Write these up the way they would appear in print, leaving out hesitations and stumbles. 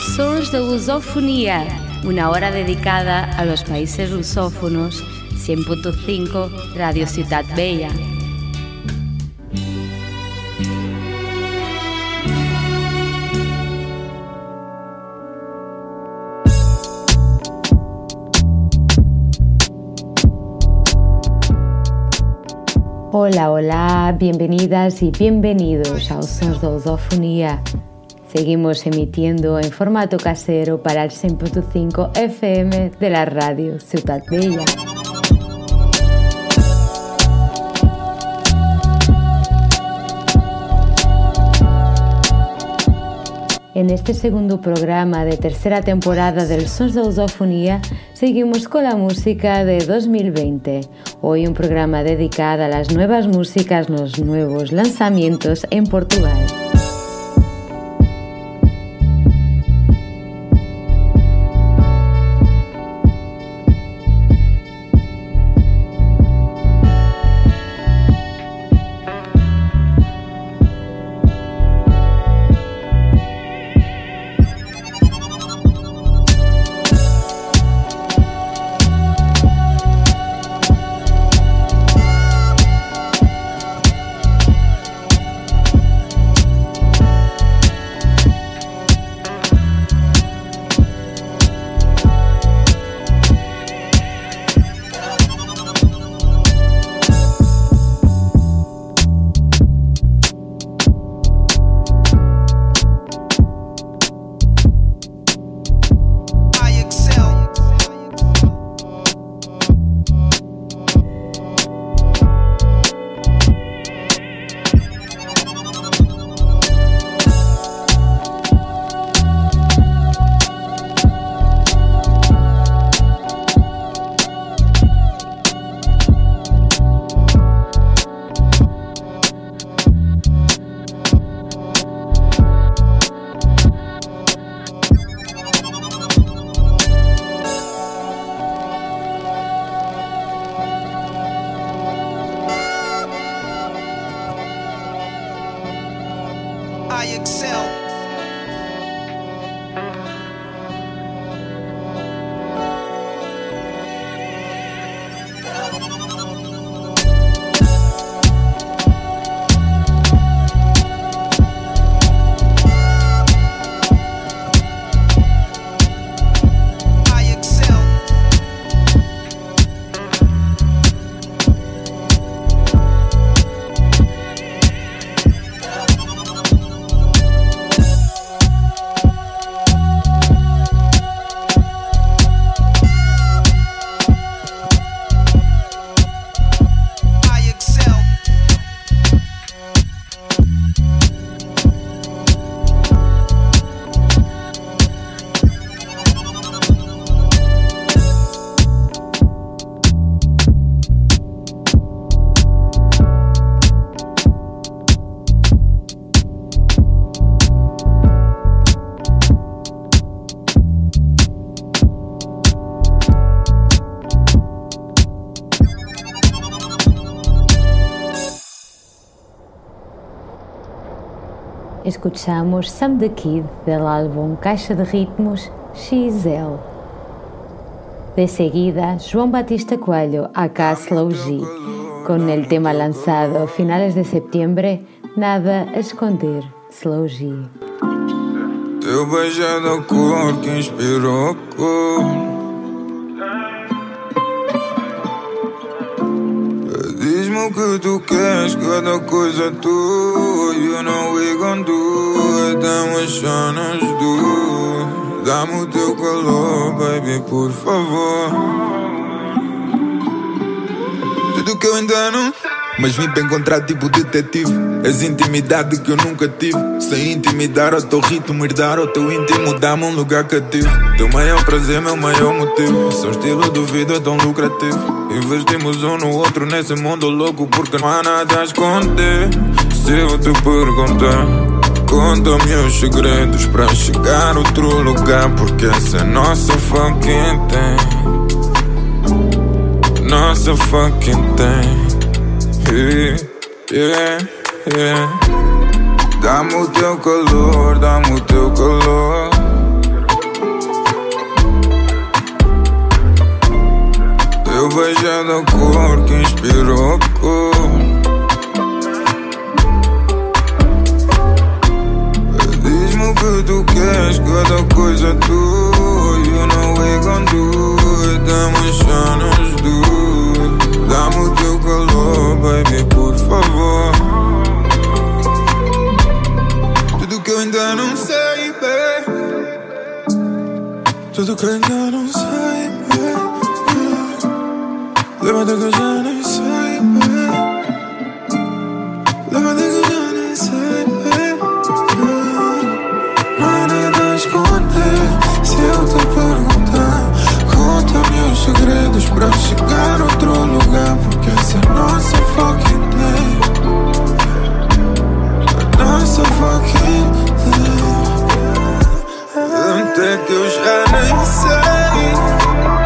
Sons de Lusofonía, una hora dedicada a los países lusófonos. 100.5 Radio Ciutat Vella. Hola, hola, bienvenidas y bienvenidos a Sons de Lusofonía. Seguimos emitiendo en formato casero para el 100.5 FM de la Radio Ciutat Vella. En este segundo programa de tercera temporada del Sons de Lusofonía seguimos con la música de 2020. Hoy un programa dedicado a las nuevas músicas, los nuevos lanzamientos en Portugal. Escuchamos Sam the Kid del álbum Caixa de Ritmos XL. De seguida, João Batista Coelho, aka Slow G, con el tema lanzado a finales de septiembre, Nada a Esconder, Slow G. Teu beijo é da cor que inspirou a cor. Diz-me o que tu queres, cada coisa é tua. You know we gon' do it, then we shine as do. Dá-me o teu calor, baby, por favor. Tudo que eu ainda não, mas vim para encontrar tipo detetive. És intimidade que eu nunca tive. Sem intimidar ao teu ritmo, herdar ao teu íntimo, dá-me um lugar cativo. Teu maior prazer, meu maior motivo. Seu estilo de vida é tão lucrativo. Investimos um no outro nesse mundo louco, porque não há nada a esconder. Se eu te perguntar, conta-me os segredos para chegar a outro lugar, porque essa é nossa fucking thing. Nossa fucking thing. Yeah, yeah. Dá-me o teu calor, dá-me o teu calor. beijo é da cor que inspirou a cor. Diz-me o que tu queres, cada coisa é tua. You know we gon' do it, emocionas do. Dá-me o teu calor, baby, por favor. Tudo que eu ainda não sei, baby. Tudo que eu ainda não sei, baby. Levanta que eu já nem sei, baby. Levanta que eu já nem sei, baby. Não há nada a esconder. Se eu te perguntar, conta-me os segredos pra chegar a outro lugar. Porque essa é a nossa fucking day. A nossa fucking day. Até que eu já nem sei.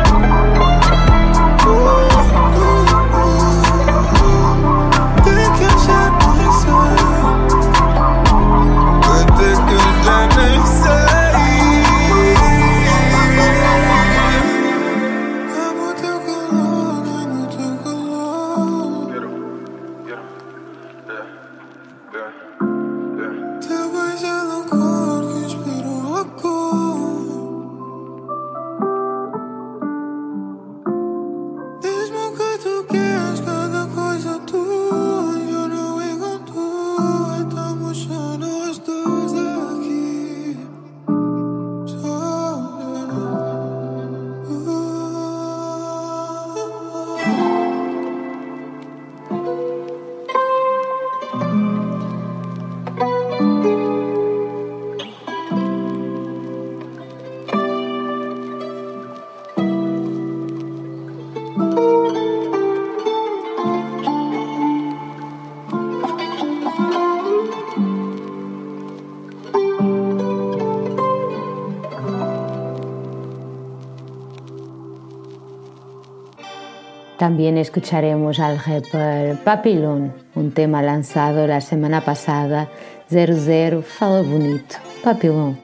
También escucharemos al rapper Papillon, un tema lanzado la semana pasada. 00 Fala Bonito. Papillon.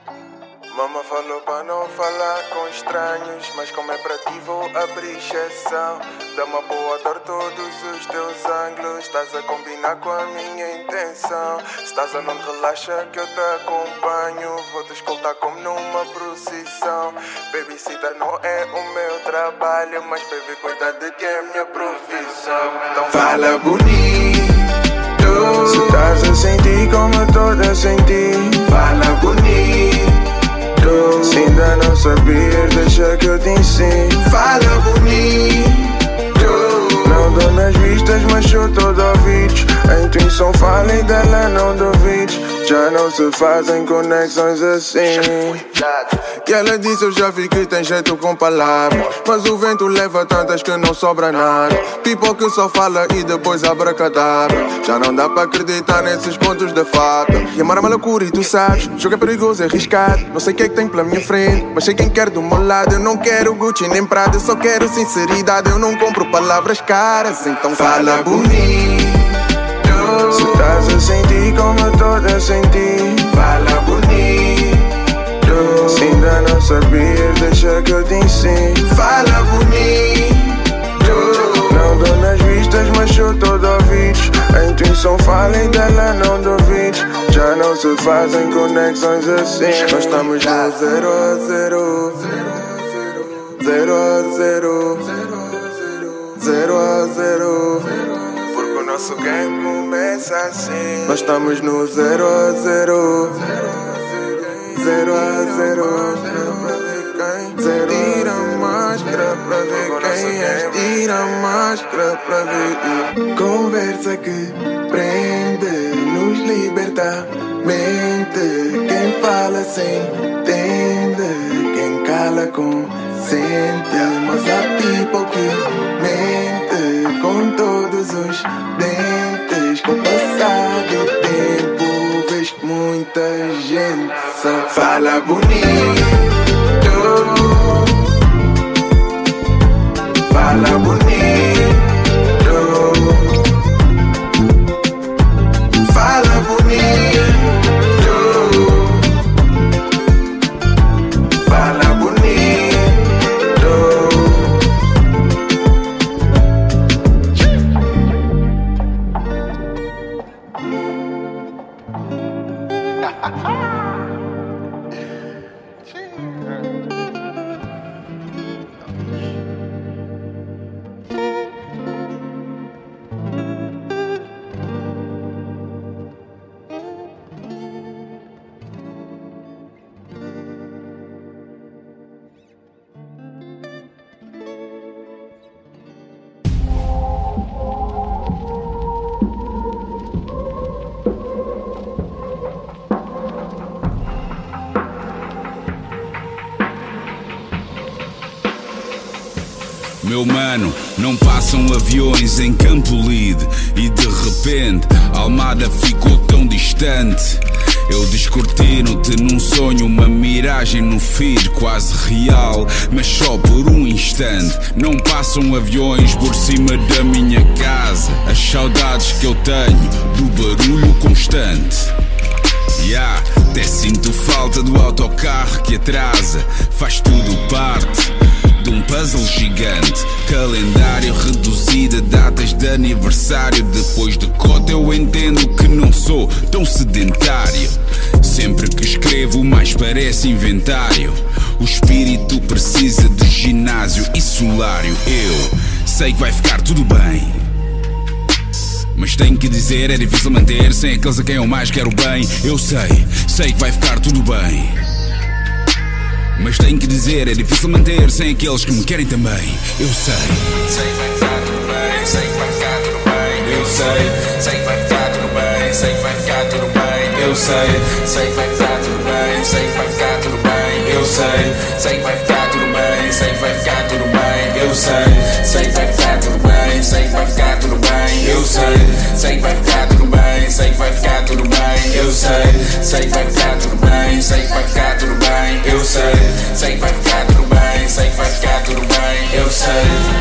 Mama falou pra não falar com estranhos, mas como é pra ti vou abrir exceção. Dá-me a boa dor todos os teus ângulos. Estás a combinar com a minha intenção. Estás a não relaxa que eu te acompanho. Vou te escoltar como numa procissão. Babysitter não é o meu trabalho, mas baby cuida de que é minha profissão. Então fala bonito. Se estás a sentir como eu tô a sentir, fala bonito. Se ainda não sabias, deixa que eu te ensino. Fala bonito. Não dou nas vistas, mas sou todo ouvidos. A intuição fala e dela não duvides. Já não se fazem conexões assim. E ela disse eu já vi que tem jeito com palavras, mas o vento leva tantas que não sobra nada. People que só fala e depois abracadabra. Já não dá pra acreditar nesses pontos de fato. E amar é uma loucura e tu sabes. O jogo é perigoso, é arriscado. Não sei o que é que tem pela minha frente, mas sei quem quer do meu lado. Eu não quero Gucci nem Prada, eu só quero sinceridade. Eu não compro palavras caras, então fala bonito. Se estás a sentir como eu tô a sentir, fala bonito. Se ainda não sabias, deixa que eu te ensino. Fala bonito. Não dou nas vistas, mas sou todo ouvidos. A intuição fala e dela não duvides. Já não se fazem conexões assim. Nós estamos no 0 a 0, 0 a 0, 0 a 0. Porque o nosso game começa assim. Nós estamos no 0 a 0, 0 a 0. Tira a máscara pra ver quem é. Tira a máscara pra ver. Conversa que prende, nos liberta. Mente, quem fala sem entende. Quem cala consente. Mas há people que mente com todos os dentes. Com o passar do tempo vês que muita gente só fala bonito. Fala bonito. Fala bonito. Fala bonito. Meu mano, não passam aviões em Campo Lide e de repente Almada ficou tão distante. Eu descortino-te num sonho, uma miragem no feed quase real, mas só por um instante. Não passam aviões por cima da minha casa. As saudades que eu tenho do barulho constante. Até sinto falta do autocarro que atrasa. Faz tudo parte de um puzzle gigante. Calendário reduzido, datas de aniversário. Depois de cota eu entendo que não sou tão sedentário. Sempre que escrevo mais parece inventário. O espírito precisa de ginásio e solário. Eu sei que vai ficar tudo bem, mas tenho que dizer, é difícil manter sem aqueles a quem eu mais quero bem. Eu sei que vai ficar tudo bem, mas tenho que dizer, é difícil manter sem aqueles que me querem também. Eu sei que vai ficar tudo bem, sei que vai ficar tudo bem. Eu sei que vai ficar tudo bem, sei que vai ficar tudo bem. Eu sei que vai ficar tudo bem, sei que vai ficar tudo bem. Eu sei que vai ficar tudo bem, sei que vai ficar tudo bem. Eu sei que vai ficar tudo bem, sei que vai ficar tudo bem. Eu sei que vai ficar tudo bem, sei que vai ficar tudo bem. Eu sei que vai ficar tudo bem, sei que vai ficar tudo bem. Eu sei que vai ficar tudo bem, sei que vai ficar tudo bem. Eu sei,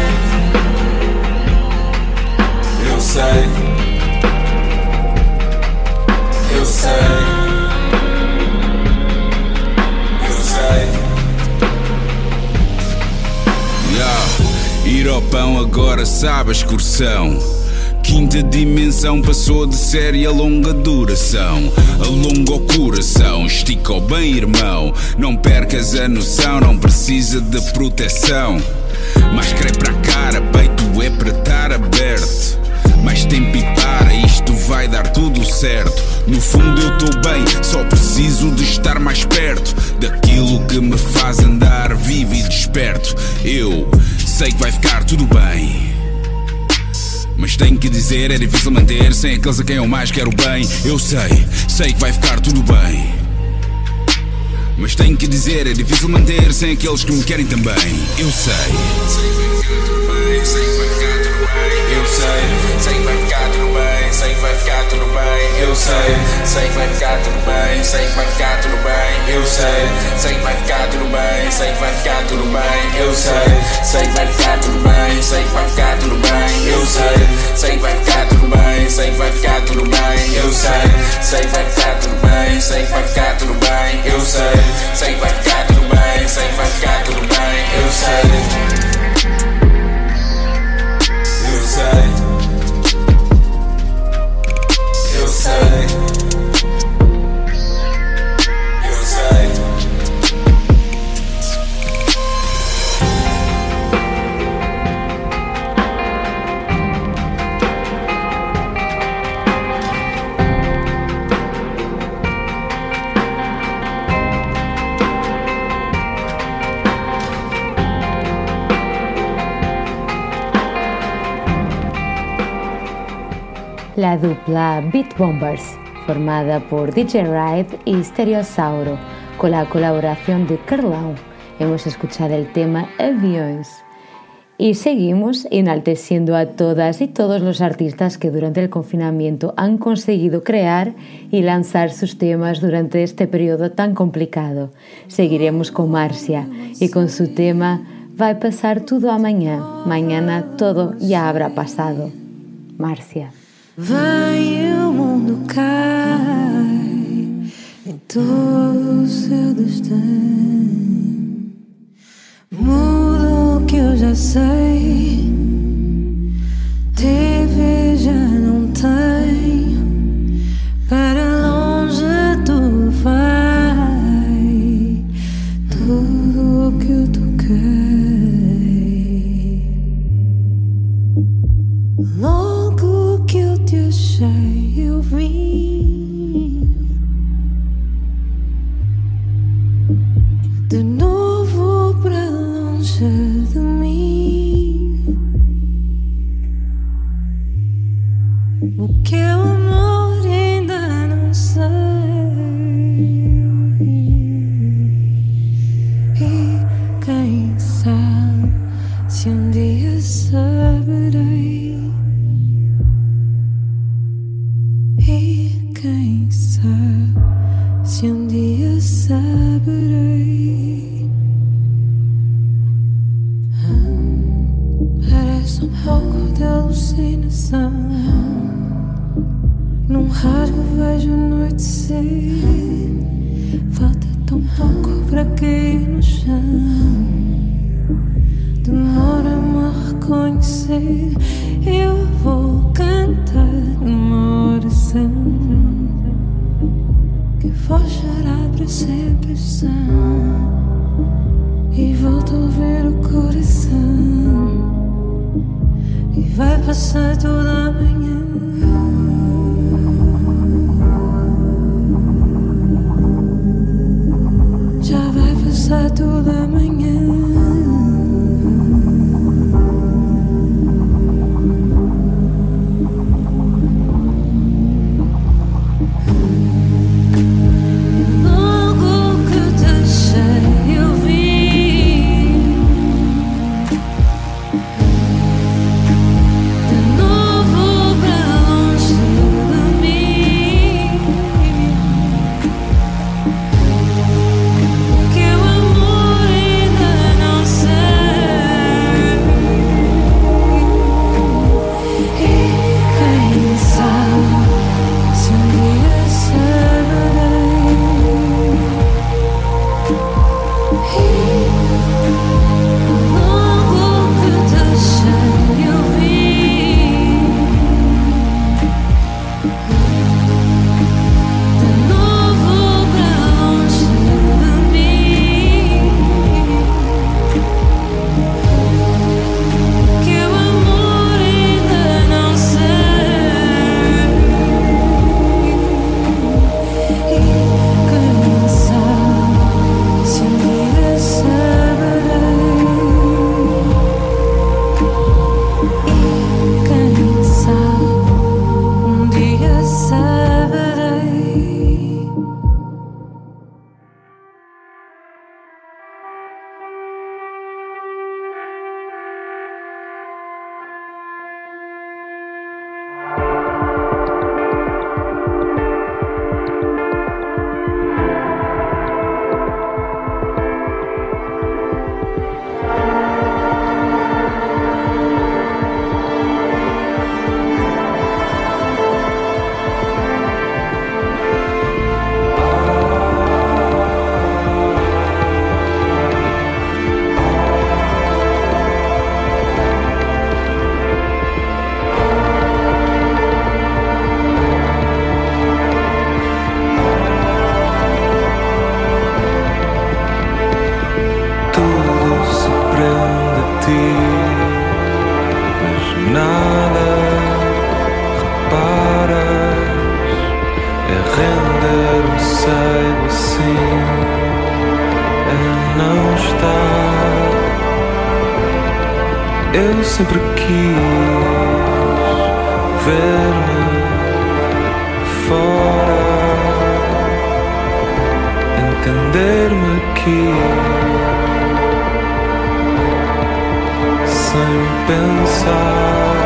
eu sei, eu sei. Ir ao pão agora sabe a excursão. Quinta dimensão passou de série a longa duração. Alonga o coração, estica o bem irmão. Não percas a noção, não precisa de proteção. Máscara é para a cara, peito é para estar aberto. Mais tempo e para, isto vai dar tudo certo. No fundo eu estou bem, só preciso de estar mais perto daquilo que me faz andar vivo e desperto. Eu sei que vai ficar tudo bem, mas tenho que dizer, é difícil manter sem aqueles a quem eu mais quero bem. Eu sei que vai ficar tudo bem, mas tenho que dizer, é difícil manter sem aqueles que me querem também. Eu sei que vai ficar tudo bem, eu sei que vai ficar tudo bem, sei que vai ficar tudo bem. Eu sei que vai ficar tudo bem, sei que vai ficar tudo bem. Eu sei que vai ficar tudo bem, sei que vai ficar tudo bem. Eu sei que vai ficar tudo bem, sei que vai ficar tudo bem. Eu sei que vai ficar tudo bem, sei que vai ficar tudo bem. Eu sei que vai ficar tudo bem, sei que vai ficar tudo bem. Eu sei que vai ficar tudo bem, sei que vai ficar tudo bem. Eu sei. Eu sei. La dupla Beat Bombers, formada por DJ Ride y Stereosauro, con la colaboración de Carlau. Hemos escuchado el tema Aviões. Y seguimos enalteciendo a todas y todos los artistas que durante el confinamiento han conseguido crear y lanzar sus temas durante este periodo tan complicado. Seguiremos con Marcia y con su tema Vai pasar tudo amanhã, mañana todo ya habrá pasado. Marcia. Vem, o mundo cai em todo o seu destino. Muda o que eu já sei, TV já não tem. Para longe tudo vai, tudo o que eu toquei. Logo que eu te achei, eu vim de novo para longe de mim. O que é o amor ainda não sei. E quem sabe se um dia dia saberei. Parece um pouco de alucinação. Num rasgo vejo anoitecer. Falta tão pouco para cair no chão. Demora-me a reconhecer. Eu vou cantar numa oração que fochará para sempre o som. E volto a ouvir o coração. E vai passar toda a manhã. Já vai passar toda a manhã. Eu sempre quis ver-me fora, entender-me aqui, sem pensar.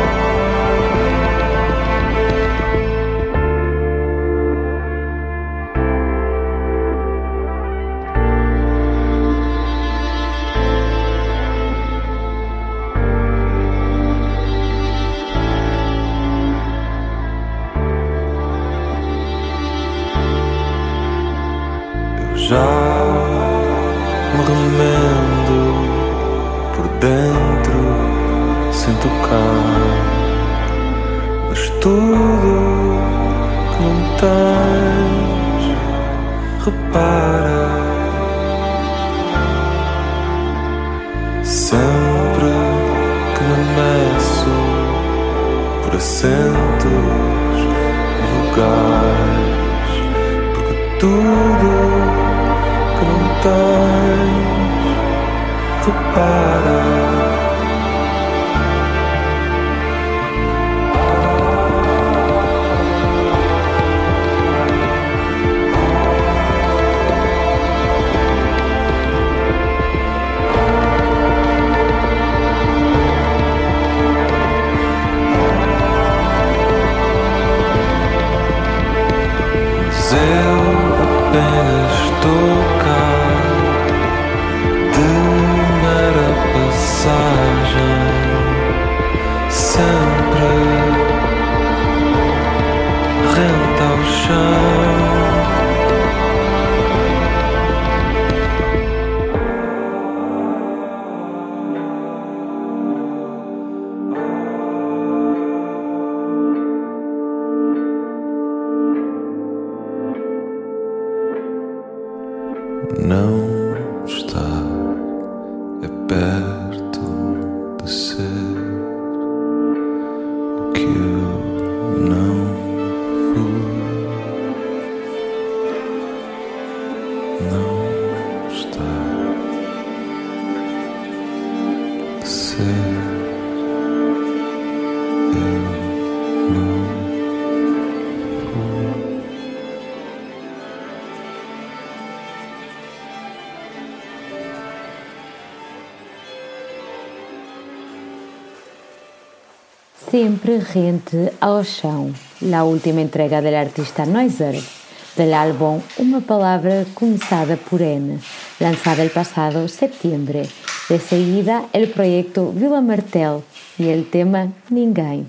Já me remendo por dentro, sem tocar, mas tudo que não tens, repara. Sempre que me meço por assentos e lugares, porque tudo que não tens, repara. Mas eu apenas estou cá de mera passagem, sempre rente ao chão. Não está perto de ser o que eu não fui. Não está de ser eu não fui. Siempre rente ao chão, la última entrega del artista Noiser, del álbum Uma Palavra Começada por N, lanzada el pasado septiembre. De seguida, el proyecto Vila Martel y el tema Ninguém.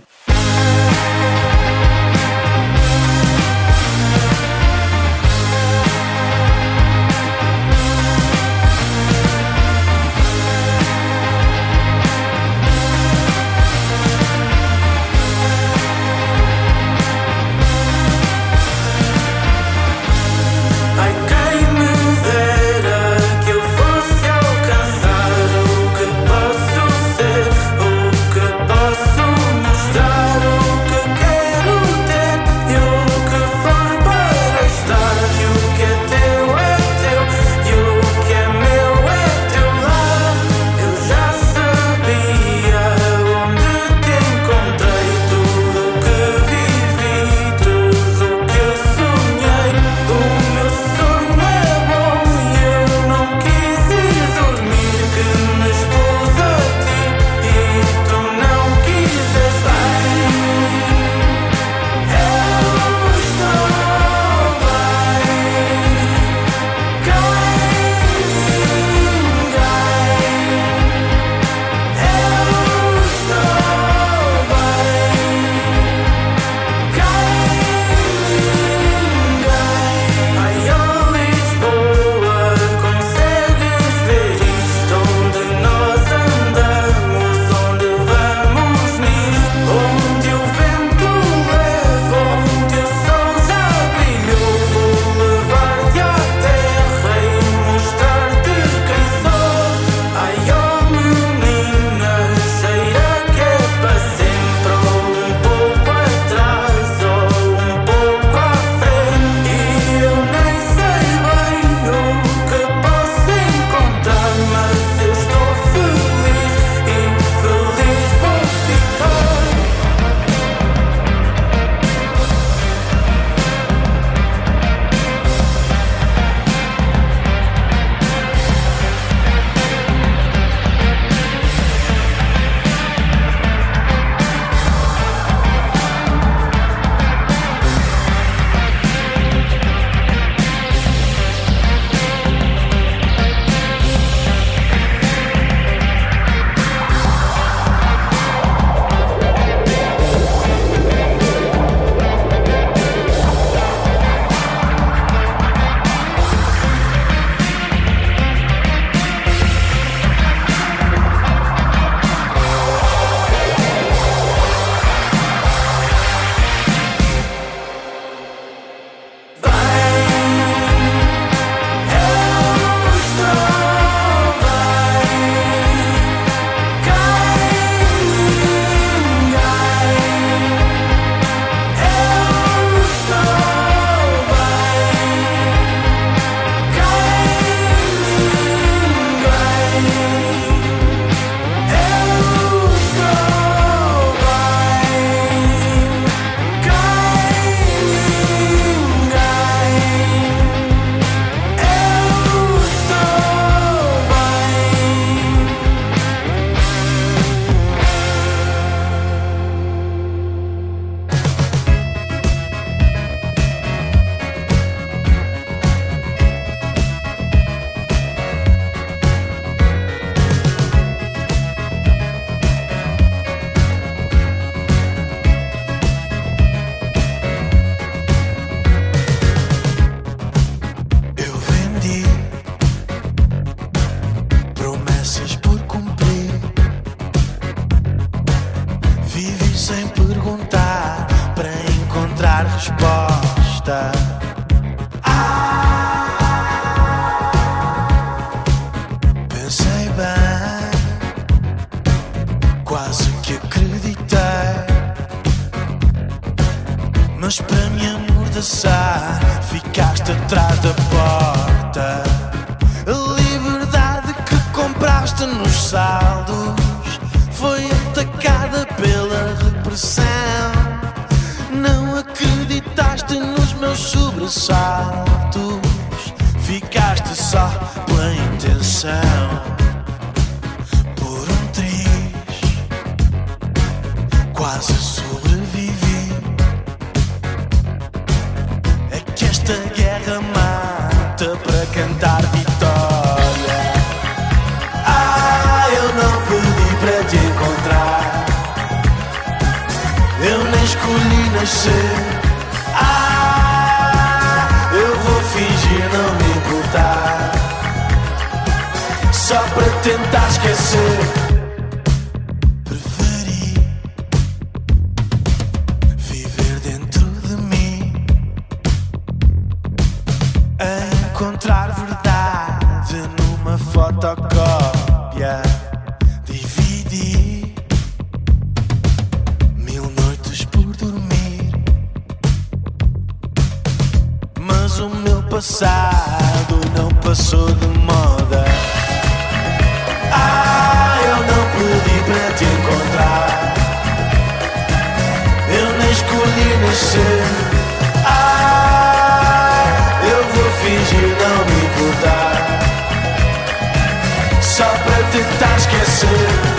Posso mostrar ficaste só pela intenção. Por um triz quase sobrevivi. É que esta guerra mata para cantar vitória. Ah, eu não pedi para te encontrar, eu nem escolhi nascer. Ah, eu vou fingir não me importar, só para tentar esquecer. Preferi viver dentro de mim, a encontrar verdade numa fotocópia. Dividi 1000 noites por dormir, mas o meu passado não passou de moda. Ah, eu não pedi para te encontrar, eu nem escolhi nascer. Ah, eu vou fingir não me importar, só para tentar esquecer.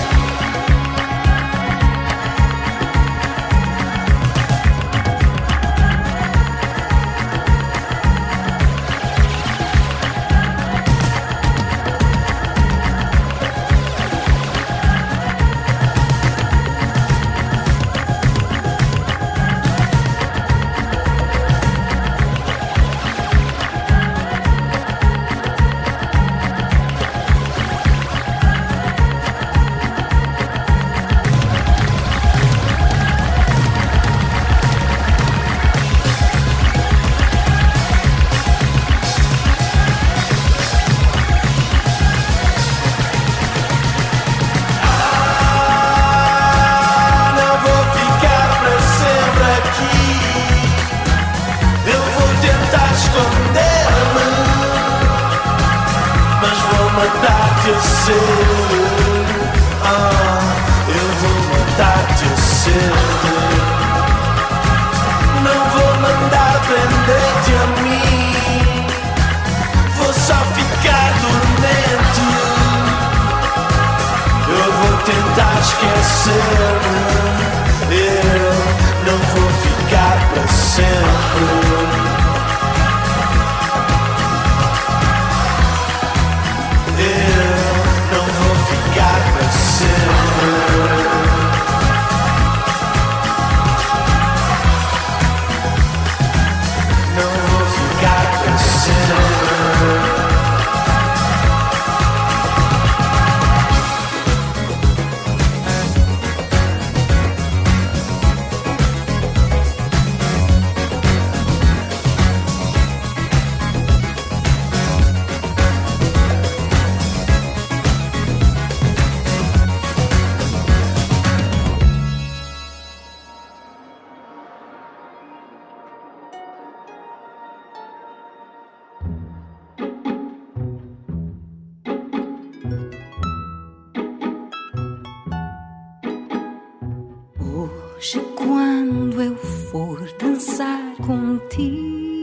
Hoje, quando eu for dançar contigo,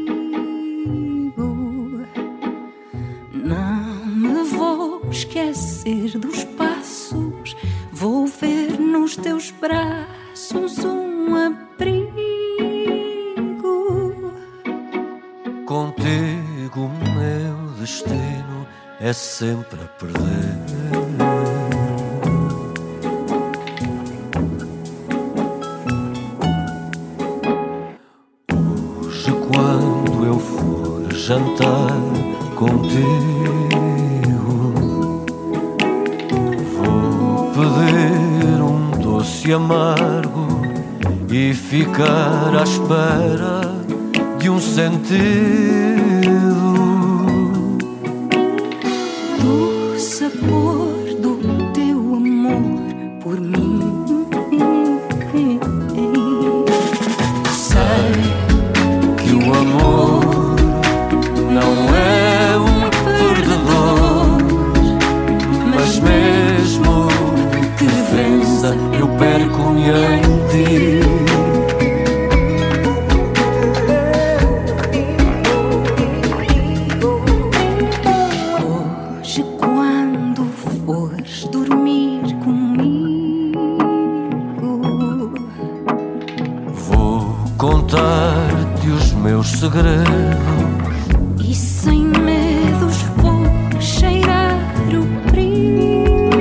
não me vou esquecer dos passos. Vou ver nos teus braços um abrigo. Contigo o meu destino é sempre a perder. Jantar contigo, vou pedir um doce amargo e ficar à espera de um sentido. Do sabor do teu amor por mim. Sei que o amor não é um perdedor, mas mesmo que vença, eu perco-me em ti. segredos. E sem medos vou cheirar o perigo.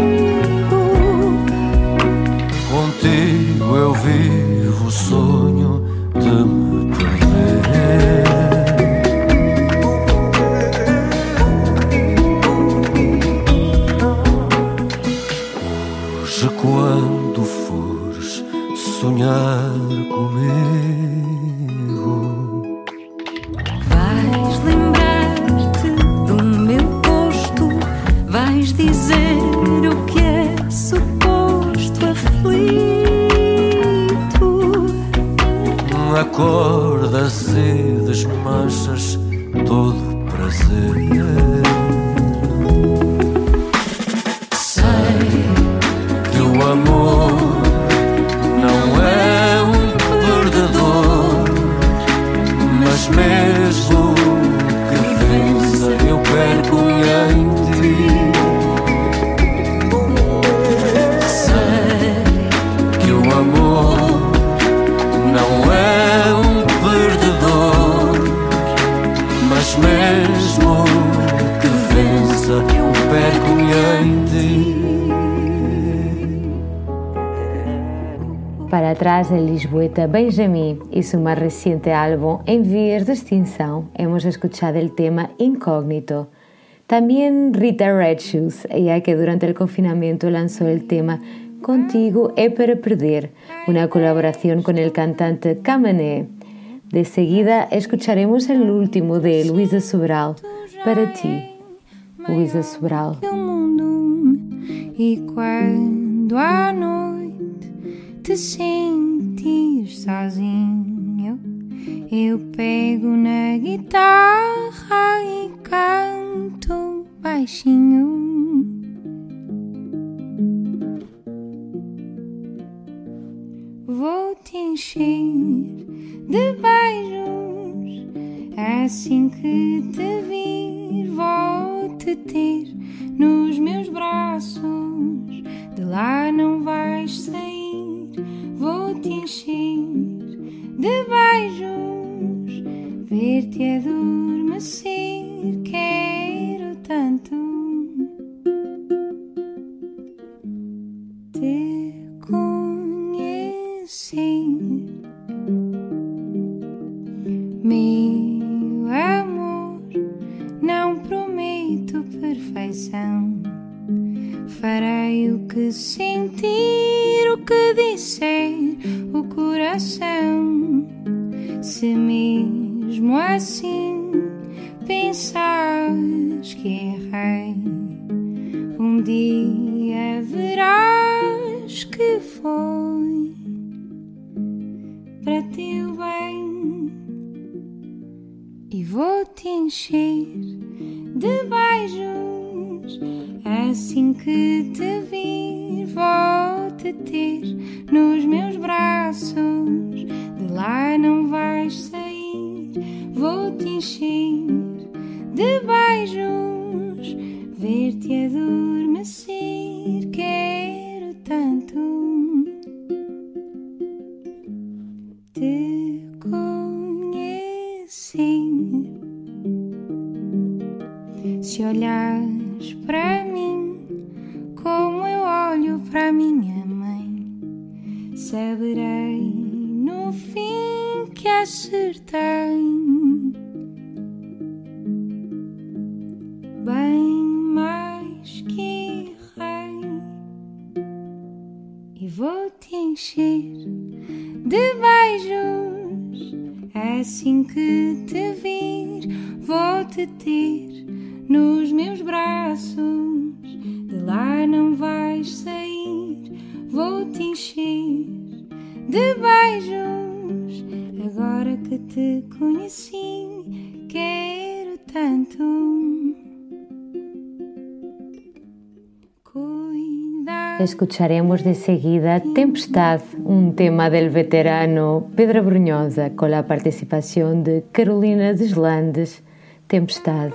Contigo eu vivo o sonho de me perder. Hoje quando fores sonhar comigo, Vais lembrar-te do meu gosto, vais dizer o que é suposto aflito. acordas e desmanchas todo o prazer. Sei que o amor não é um perdedor, mas mesmo que vença eu perco-me em ti. Sei que o amor não é um perdedor, mas mesmo que vença eu perco-me em ti. Para atrás, el lisboeta Benjamin y su más reciente álbum En vías de extinción, hemos escuchado el tema Incógnito. También Rita Red Shoes, ella que durante el confinamiento lanzó el tema Contigo é para perder, una colaboración con el cantante Camané. De seguida escucharemos el último de Luísa Sobral, Para ti, Luísa Sobral. E quando à noite te sentires sozinho, eu pego na guitarra e canto baixinho. Vou-te encher de beijos, assim que te vir, vou-te ter nos meus braços, de lá não vais sair. Vou-te encher de beijos, ver-te adormecer, quero tanto te conhecer. Meu amor, não prometo perfeição, farei o que sentir, o que disser o coração. Se mesmo assim pensares que errei, um dia verás que foi para teu bem. E vou-te encher de beijos, assim que te vir, vou-te ter nos meus braços, de lá não vais sair. Vou-te encher de beijos, ver-te adormecer, quero tanto te conhecer. Se olhares para mim como eu olho para minha mãe, saberei no fim que acertei. Bem mais que errei. E vou-te encher de beijos, assim que te vir, vou-te ter nos meus braços, de lá não vais sair. Vou-te encher de beijos, agora que te conheci, quero tanto cuidar. Escucharemos de seguida Tempestad, un tema del veterano Pedro Brunhosa, con la participación de Carolina Deslandes. Tempestad.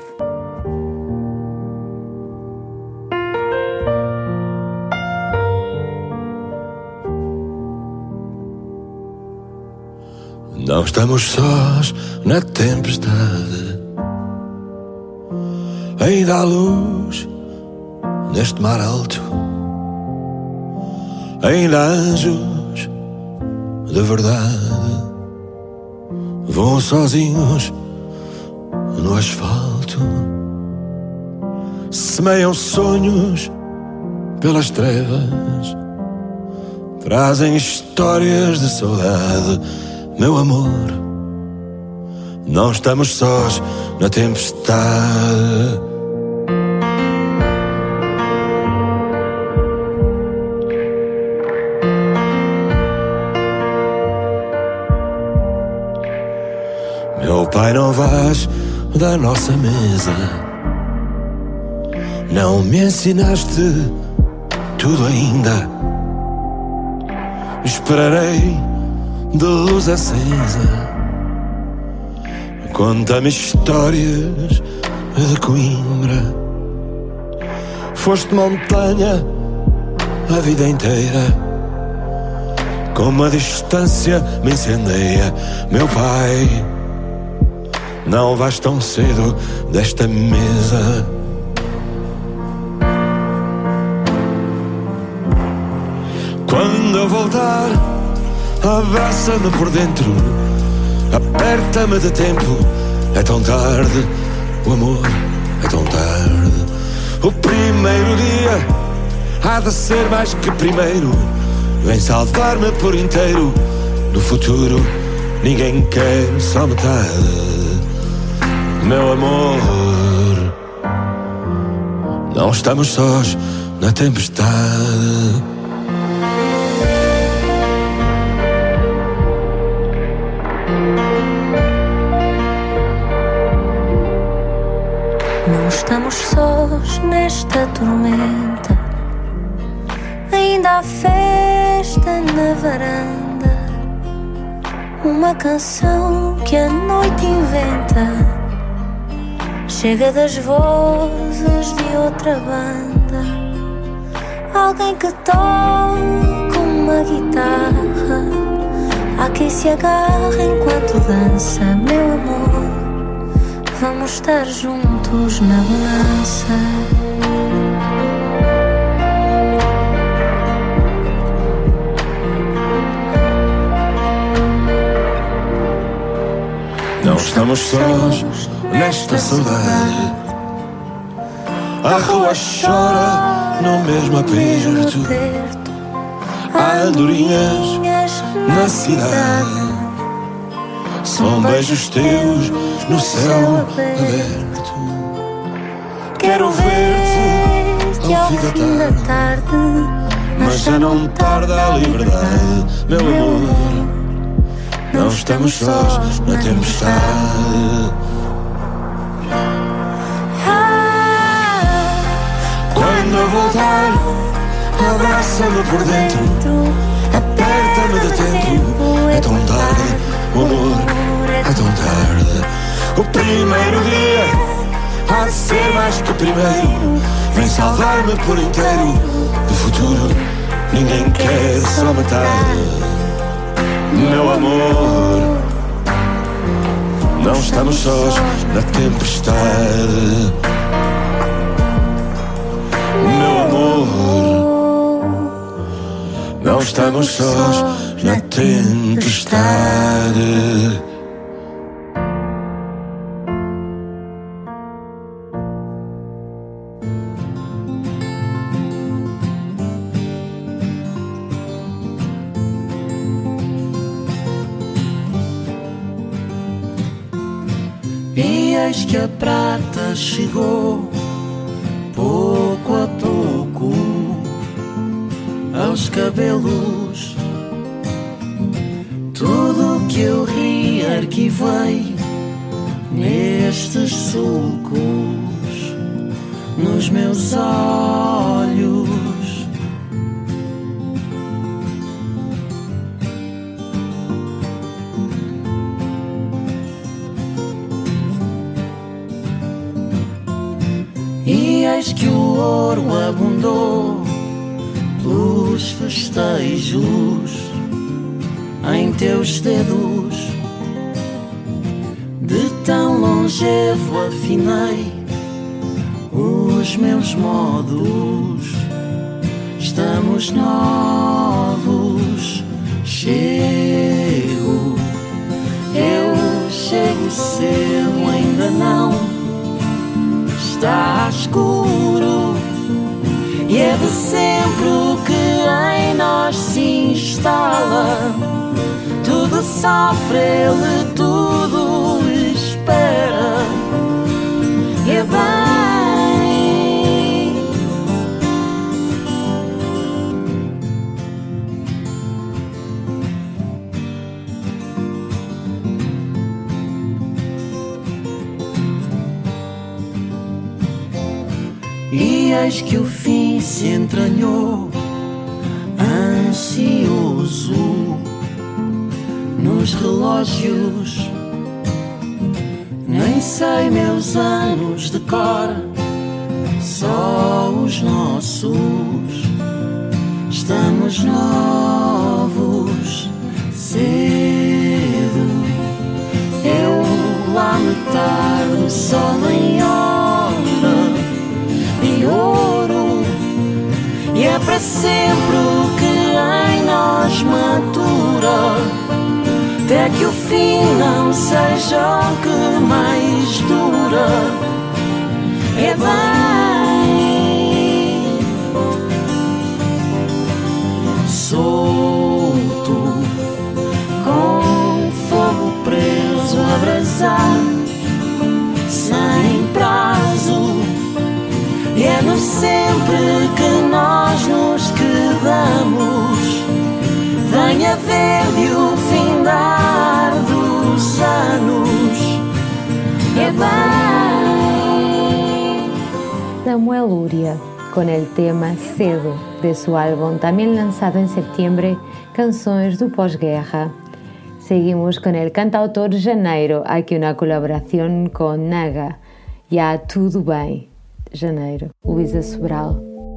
Na Não estamos sós na tempestade. Ainda há luz neste mar alto. Ainda há anjos de verdade. Voam sozinhos no asfalto. Semeiam sonhos pelas trevas. Trazem histórias de saudade. Meu amor, não estamos sós na tempestade. Meu pai, não vais da nossa mesa. Não me ensinaste tudo ainda. Esperarei de luz acesa. Conta-me histórias de Coimbra. Foste montanha a vida inteira. Como a distância me incendeia. Meu pai, não vais tão cedo desta mesa. Quando eu voltar, abraça-me por dentro, aperta-me de tempo. É tão tarde, o amor é tão tarde. O primeiro dia há de ser mais que primeiro. Vem salvar-me por inteiro. No futuro ninguém quer só metade. Meu amor, não estamos sós na tempestade. Não estamos sós nesta tormenta. Ainda há festa na varanda. Uma canção que a noite inventa. Chega das vozes de outra banda. Alguém que toca uma guitarra. Há quem se agarra enquanto dança. Meu amor, vamos estar juntos na bonança. Não estamos sós nesta saudade. A rua chora no mesmo aperto. Há andorinhas na cidade. São beijos teus no céu aberto. Quero ver-te ao fim da tarde. Mas já não tarda a liberdade. Meu amor, não estamos sós na tempestade. Quando eu voltar, abraça-me por dentro, aperta-me de tempo. É tão tarde, o amor é tão tarde. O primeiro dia há de ser mais que primeiro. Vem salvar-me por inteiro. Do futuro ninguém quer só metade. Meu amor, não estamos sós na tempestade. Meu amor, não estamos sós na tempestade. E eis que a prata chegou, pouco a pouco, aos cabelos. Tudo que eu ri arquivei nestes sulcos, nos meus olhos. E eis que o ouro abundou pelos festejos em teus dedos De tão longevo afinei os meus modos. Estamos novos. Chego, eu chego cedo, ainda não está escuro. E é de sempre o que em nós se instala. Tudo sofre, ele tudo espera. E é bem. E eis que o fim se entranhou, ansioso, nos relógios. Nem sei meus anos de cor, só os nossos. Estamos novos, cedo. Eu lá me tardo, sol em hora de ouro. E é para sempre o que em nós matura, até que o fim não seja o que mais dura. É bem solto, com fogo preso a brasar, sem prazo. E é no sempre que nós nos quedamos. Venha ver-lhe o findar dos anos. É bem. Samuel Uria, con el tema Cedo, de su álbum también lanzado en septiembre, Canções do Pós-Guerra. Seguimos con el cantautor Janeiro, aquí una colaboración con Naga, Ya Tudo Bem. Janeiro, Luísa Sobral.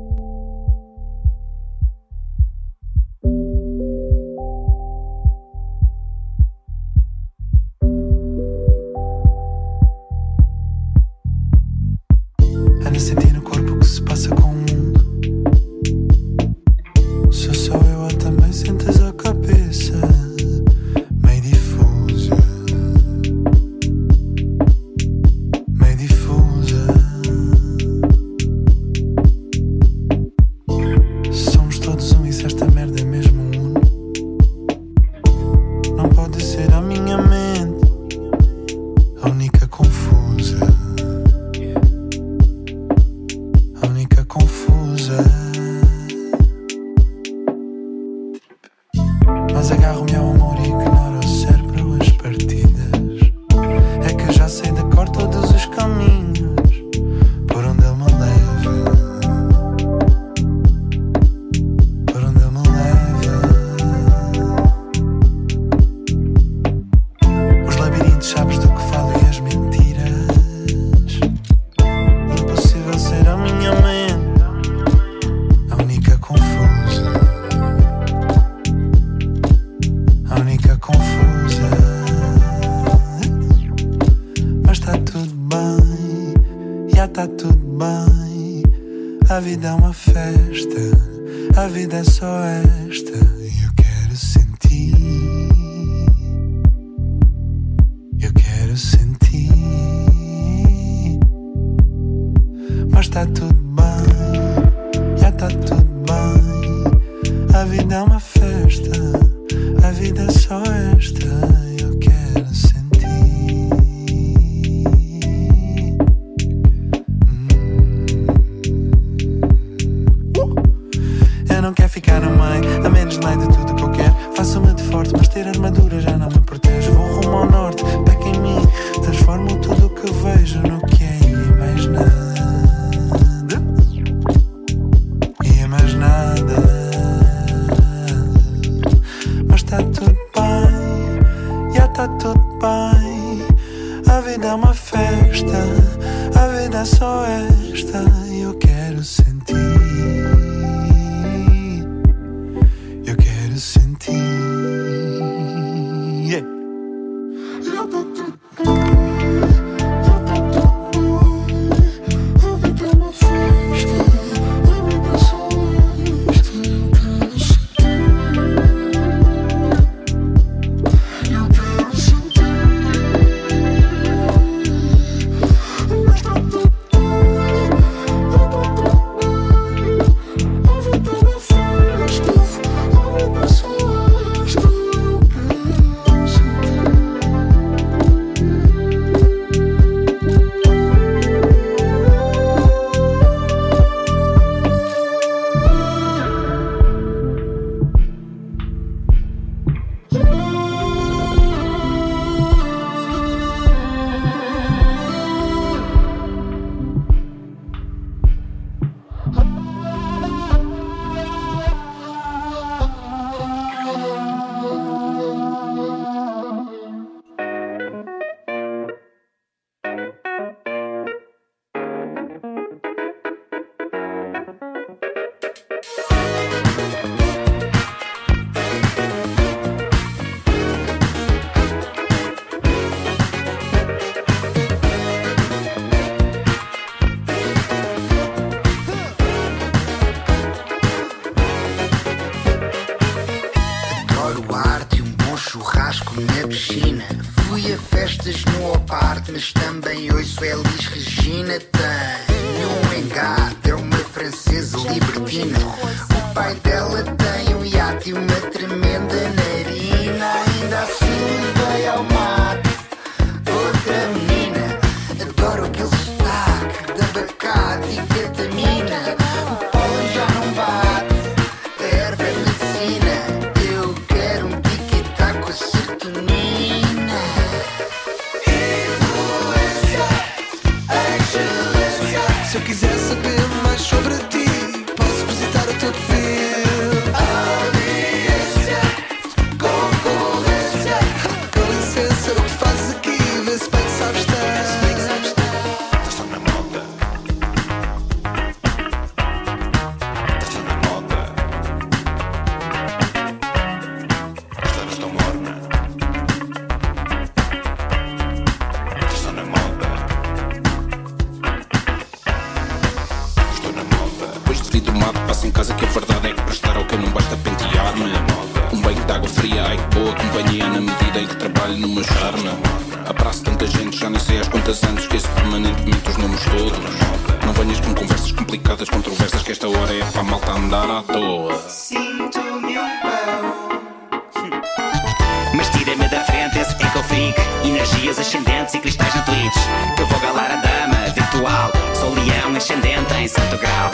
Ando a sentir no corpo o que se passa com o mundo. Sou só eu ou também sentes a cabeça meio difusa, meio difusa. Somos todos um e se esta merda é mesmo uno, não pode ser a minha mente a única confusa, a única confusa. Mas agarro-me ao amor e ignoro ao cérebro as partidas. É que já sei de cor todos os caminhos por onde ele me leva, por onde ele me leva. Os labirintos, sabes do que falo e as mentiras. Impossível ser a minha mente a única confusa, a única confusa. Mas tá tudo bem, já tá tudo bem. A vida é uma festa, a vida é só esta. E eu quero sentir, eu quero sentir. Mas tá tudo bem, já tá tudo bem. A vida é uma festa, a vida é só esta. Eu quero sentir. Eu não quero ficar no meio, a menos de meio de tudo que eu quero. Faço-me de forte, mas ter armadura já não me protege. Vou rumo ao norte, peca em mim. Transformo tudo o que vejo no que é e mais nada. E mais nada. Mas tá tudo bem, já tá tudo bem. A vida é uma festa, a vida é só esta. Eu quero sentir, eu quero sentir. Yeah. mas também ouço Elis Regina. Tenho um engate, é uma francesa libertina. O pai dela tem um iate e uma tremenda narina. Ainda assim levei ao mate outra menina. Adoro aquele sotaque de abacate e ketamina. O pólen já não bate, a erva é medicina. Eu quero um tiquetá com a serotonina. Influência, excelência. Se eu quiser saber mais sobre ti, posso visitar o teu perfil. Audiência, concorrência. Com licença, o que fazes aqui? Vê se bem que sabes estar. Estás tão na moda. Estás tão na moda. Estás tão morna. Estás tão na moda. Estou na moda. Depois de vir do mato, passo em casa que a verdade é que prestar ao que não basta pentear-me. Um banho de água fria, ai que boa companhia na medida em que trabalho no meu charme. Abraço tanta gente, já nem sei às quantas anos esqueço permanentemente os nomes todos. Não venhas com conversas complicadas, controversas, que esta hora é para a malta andar à toa. Sinto-me um pão. Mas tira-me da frente, esse é que eu fico. Energias ascendentes e cristais na Twitch. Que eu vou galar a dama virtual. Sou leão ascendente em santo grau.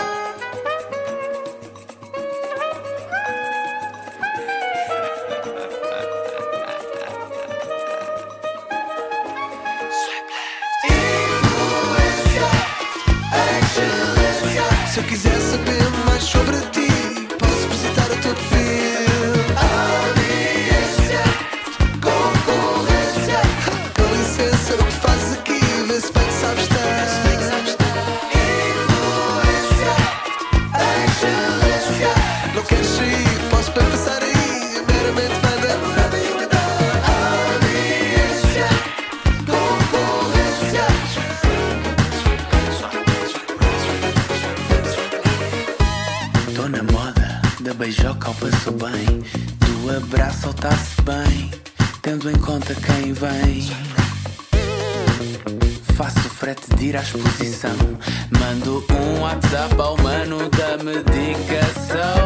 Influência, excelência. Se eu quiser saber mais sobre ti, posso visitar o teu perfil. Audiência, concorrência. Com licença, o que fazes aqui? Vê se bem que sabes estar. Influência, excelência. Não queres sair? Posso bem passar aí. Meramente manda. Audiência, concorrência. Tô na moda, da beijoca ao passo bem, do abraço ao tá-se bem, tendo em conta quem vem. Faço o frete de ir à exposição, mando um WhatsApp ao mano da medicação.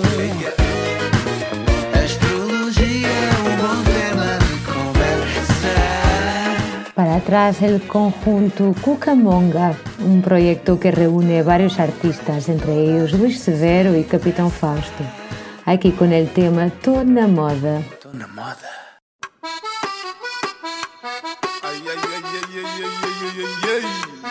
Astrologia é um bom tema de conversa. Para atrás el conjunto Cucamonga, un proyecto que reúne varios artistas, entre ellos Luis Severo y Capitán Fausto. Aquí con el tema Tô na Moda. Tô na moda. Ay, ay, ay, ay, ay, ay, ay, ay,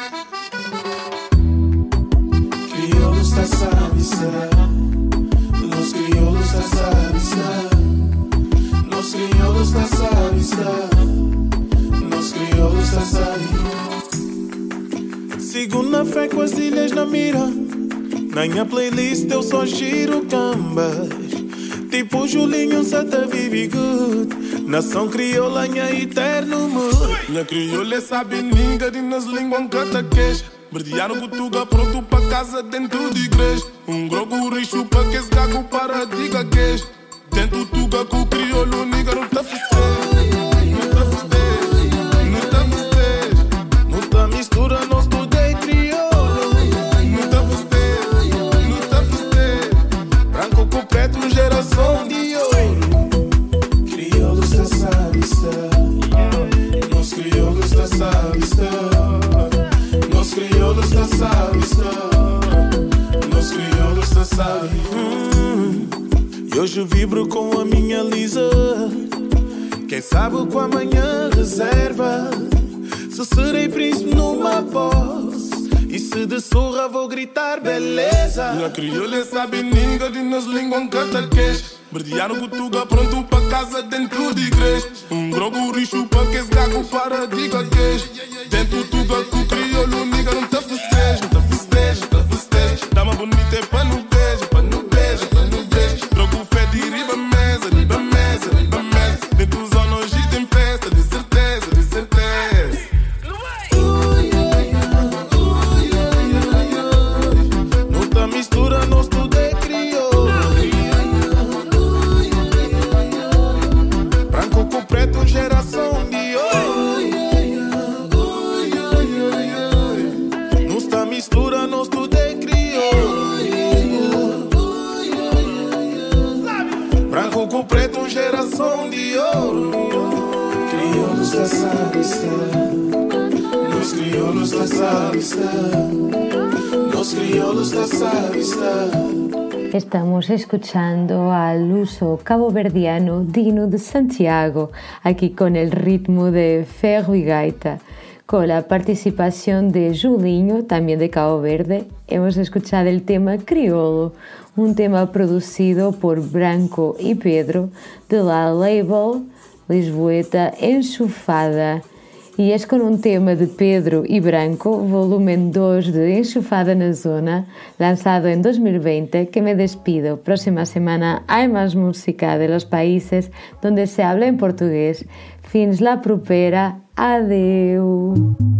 ay. Crioulos da Savista, los crioulos da Savista, los crioulos da Savista, los crioulos da Savista. Segunda fé com as ilhas na mira, na minha playlist eu só giro cambas. Tipo Julinho, Santa Vivi Good. Nação crioula, minha eterno mood. Minha crioula sabe ninga de nas línguas cataqueja. Verdearam Portugal pronto pra casa dentro de igreja. Um grogo rixo pra que esse gago para diga queijo. Dentro tuga com o crioulo, niga não tá festejo. Não tá festejo, não tá festejo. Não tá mistura, não estudei crioulo. Não tá festejo, não tá festejo. Branco com preto, geração de ouro. Crioulos da Savista, nós crioulos da Savista, nós crioulos da Savista, nós crioulos da Savista. E hoje vibro com a minha Lisa. Quem sabe com amanhã reserva. Se serei príncipe numa posse, e se de surra vou gritar beleza. Minha crioula sabe ninga de nas línguas cataqueja. Verdearam Portugal pronto pra casa dentro de igreja. Um grogo rixo pra que esse gago para diga queijo. Dentro tudo com o crioulo, niga não tá festejo. Não tá festejo, não tá festejo. Dama bonita é pra no beijo, pra no beijo, pra no beijo. Drogo fé de riba mesa, riba mesa, riba mesa. Dentro dos anos tem festa, de certeza, de certeza. Não tá mistura, não estudei crioulo. Branco com preto, geração de ouro. pão de ouro. Crioulos da Savista, los crioulos da Savista, los crioulos da Savista. Estamos escuchando al uso caboverdiano digno de Santiago, aquí con el ritmo de ferro y gaita. Con la participación de Julinho, también de Cabo Verde, hemos escuchado el tema Criolo, un tema producido por Branco y Pedro de la label lisboeta Enxufada. Y es con un tema de Pedro y Branco, volumen 2 de Enxufada na Zona, lanzado en 2020, que me despido. Próxima semana hay más música de los países donde se habla en portugués. Fins la propera. Adeu.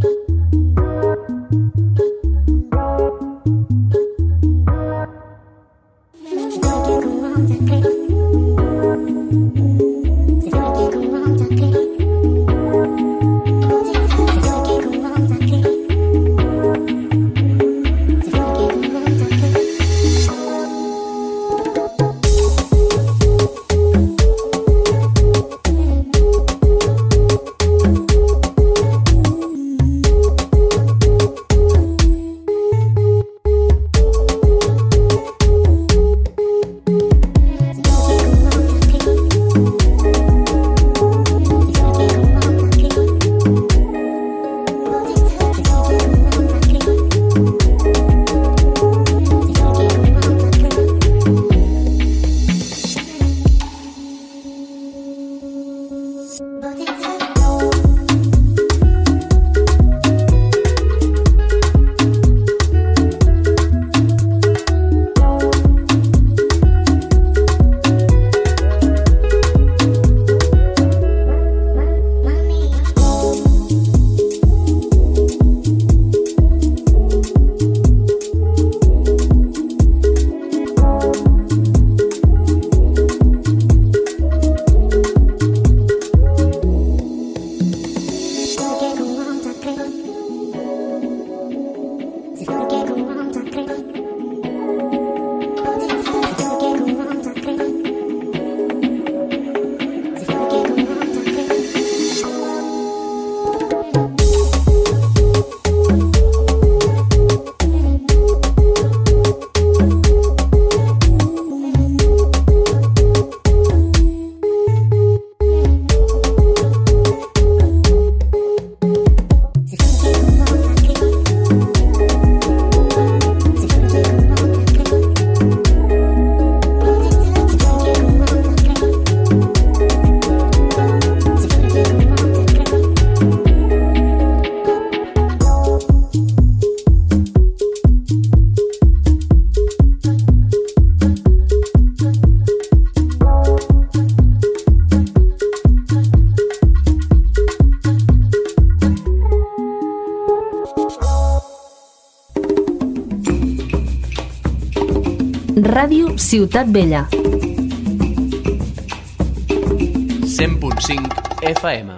Ràdio Ciutat Vella. 100.5 FM.